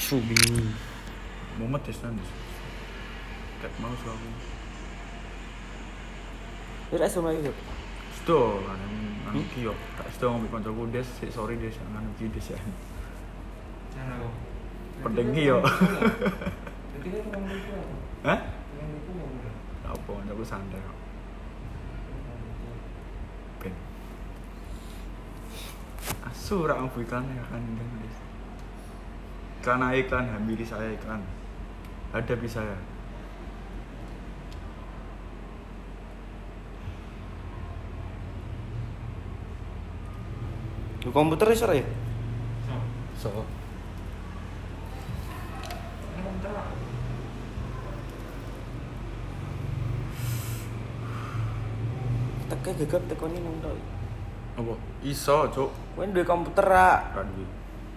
asu bi. Mumet desan. Kat mau suami. Wis asu mlayu yo. Sto kan iki yo. Tak sto ngombe kancaku des, sorry des nang iki des ya. Cara kok. Pendengi yo. Jadi kan ngomong itu apa? Hah? Yang itu ngomong. Apa kancaku santai kok. Ben. Asu rak ngombe iklan ya kan des. Iklan hampiri saya iklan. Ada bisa ya. Lu komputer iso ya? So. Teke gegap tekoni nang tok. Apa? Iso, Cuk. Kowe duwe komputer ra? Kan iki.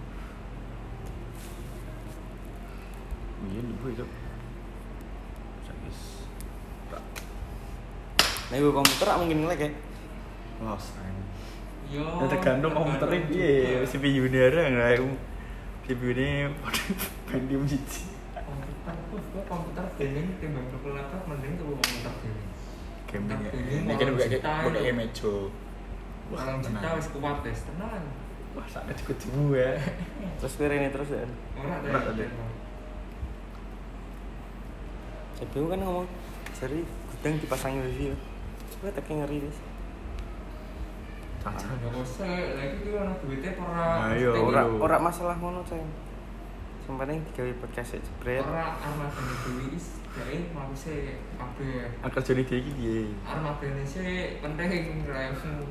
Iya, ibu itu. Sakis. Tak. Nek duwe komputer ra mungkin ngelek ya. Wah, sayang. Yo. Ya tergantung komputernya piye, CPU-ne arek CPU-ne Pentium 1. Komputer gaming timbang tuku laptop mending tuku komputer gaming. Gaming. Gaming, Ini kan orang juta buka itu. meja. Orang juta wis kuat wis tenan. Wah, sakit cukup ya. Terus kowe rene terus ya. Ora tadi. Sebelum kan ngomong seri gudang dipasangi wifi. Kowe teke ngeri wis. Caca. Enggak usah, lagi ki ana duwite ora. Ayo, Ora masalah ngono, Ceng. Sing penting digawe podcast jebret. Ora armadane dewi is gawe mause kabeh. Kerjane dia iki piye? Armadane sih penting raimu.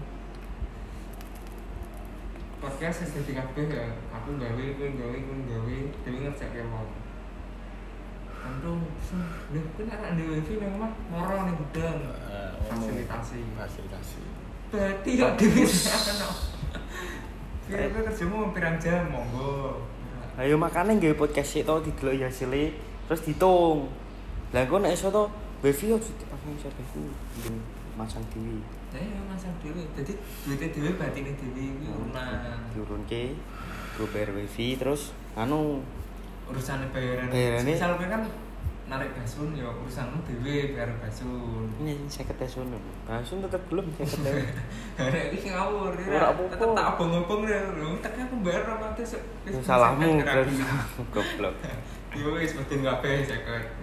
Podcast wis dadi kabeh ya. Aku gawe, kowe gawe, dewi ngerjakke mau. Untung, lho kan arek ndek wifi nang omah moro ning gudang. Fasilitasi. Berarti kok dewi ana. Kira-kira kerjamu pirang jam monggo. Ayo makane gawe podcast sik to dideloki hasile terus ditung. Lah engko nek iso to wifi yo dipasang serverku ben masang dhewe. Ya masang dhewe. Dadi duwite dhewe batine dhewe kuwi urunan. Diurunke go bayar wifi terus anu Urusane bayaran. Bayarane- Misal kowe kan narik basun ya urusanmu dhewe bayar basun. ini 50 peso. Basun tetep belum 50 peso. Arek iki ngawur ya. Ora apa-apa. Tetep tak obong-obong ya. Lho, tak aku bayar 200. Salahmu berarti goblok. Yo wis mesti kabeh 50.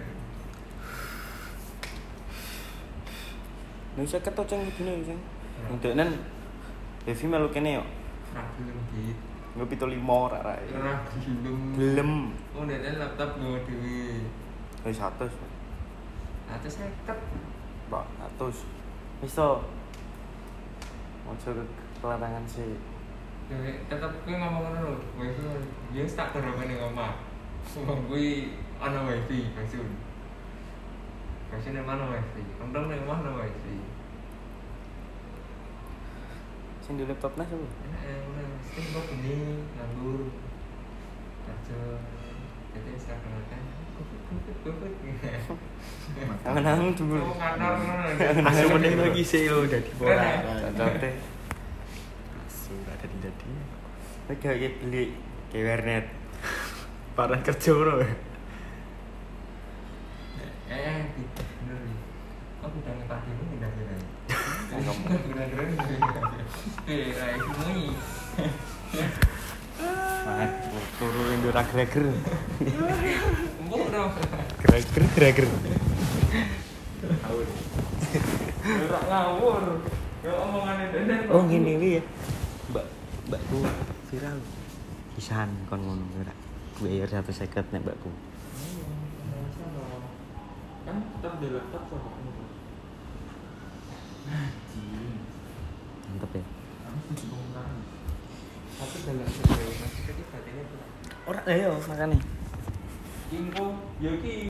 Nek 50 to ceng dine ceng. Ndeknen wifi melu kene yo. Ra gelem dit. Nggo 75 ra ra. Ora gelem. Gelem. Oh, nek laptop nggo dhewe. Wis 100. Atus 50. Mbak 100. Wis to. Ojo kelarangan sih. Ya tetep kowe ngomong ngono lho. Wifi ya tak dorongane ning omah. Wong kuwi ana wifi basun. Basun ning mana wifi? Untung ning omah ana wifi. Sing di laptopnya sapa? Enak ya, mesti kok gini nganggur. Kerja. Jadi saya kenalkan. Kuput. Angen-angen dulu. Oh, ngantor ngono. Asu mending lagi sih lo dadi ora. Contohnya Asu ora dadi. kayak beli ke warnet. Parah kerja ngono. Bener nih. Aku udah ngepake ini udah keren. Rai mui. Nah, turunin dura greger. Mbok dong. Greger. Tahu. Ora ngawur. Ya omongane dene. Oh, ngene iki ya. Mbakku viral. Kisahan kon ngono ora. Bayar 150 nek mbakku. Kan tetap di laptop sama kamu. Mantep ya. Tapi dalam sebuah masih ketika ini Ora ayo makane. info, yo ki